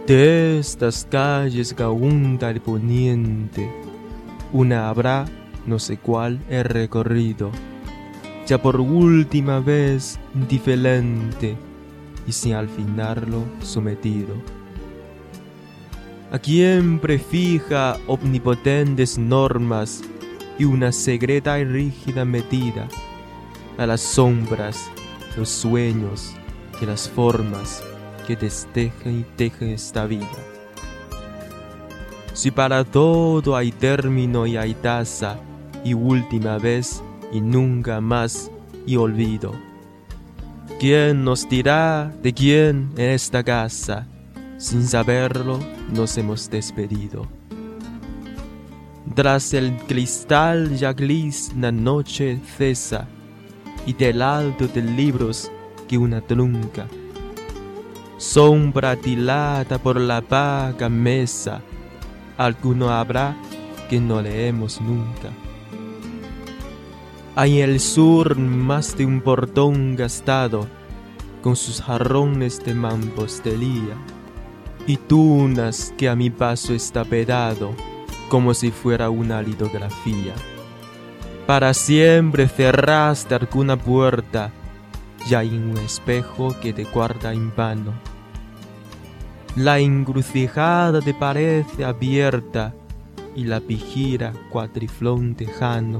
De estas calles que abunda el poniente, una habrá, no sé cuál he recorrido, ya por última vez indiferente y sin al finarlo sometido. A quien prefija omnipotentes normas y una secreta y rígida medida, a las sombras, los sueños y las formas que destejen y tejen esta vida. Si para todo hay término y hay tasa, y última vez y nunca más y olvido, ¿quién nos dirá de quién en esta casa? Sin saberlo nos hemos despedido. Tras el cristal ya gris la noche cesa, y del alto de libros que una trunca, sombra tilada por la vaga mesa, alguno habrá que no leemos nunca. Hay en el sur más de un portón gastado, con sus jarrones de mampostería, y tunas que a mi paso está pedado, como si fuera una litografía. Para siempre cerraste alguna puerta, ya hay un espejo que te guarda en vano. La encrucijada te parece abierta y la vigila cuatriflón tejano.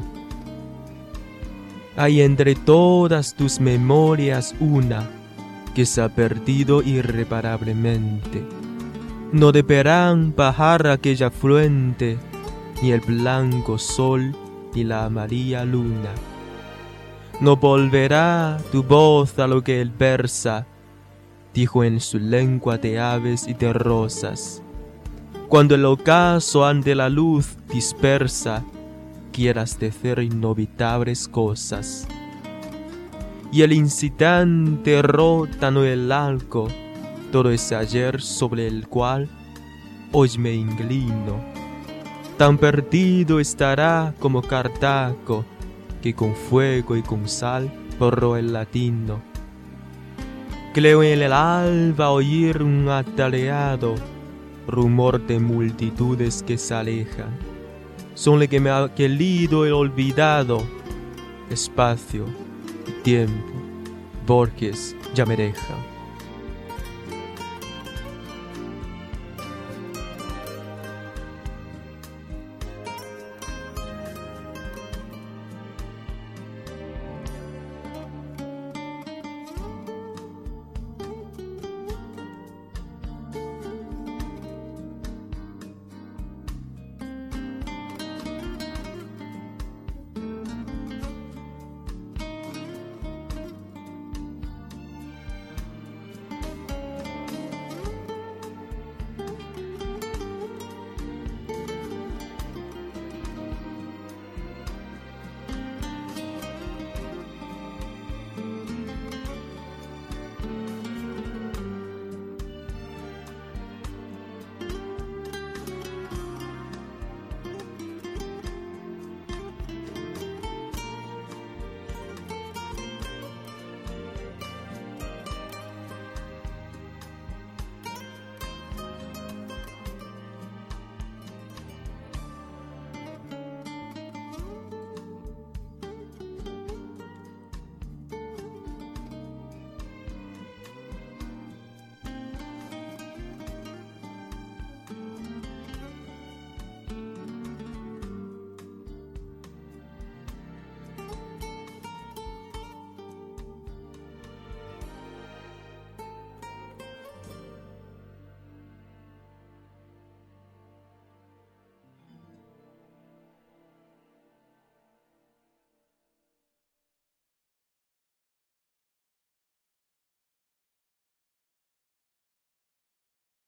Hay entre todas tus memorias una que se ha perdido irreparablemente. No deberán bajar aquella fuente, ni el blanco sol ni la amarilla luna. No volverá tu voz a lo que él versa, dijo en su lengua de aves y de rosas. Cuando el ocaso ante la luz dispersa, quieras decir inevitables cosas. Y el instante rótano el arco, todo ese ayer sobre el cual hoy me inclino. Tan perdido estará como Cartago, que con fuego y con sal borró el latino. Creo en el alba oír un atareado rumor de multitudes que se alejan. Son lo que me ha querido el olvidado. Espacio y tiempo, Borges ya me dejan.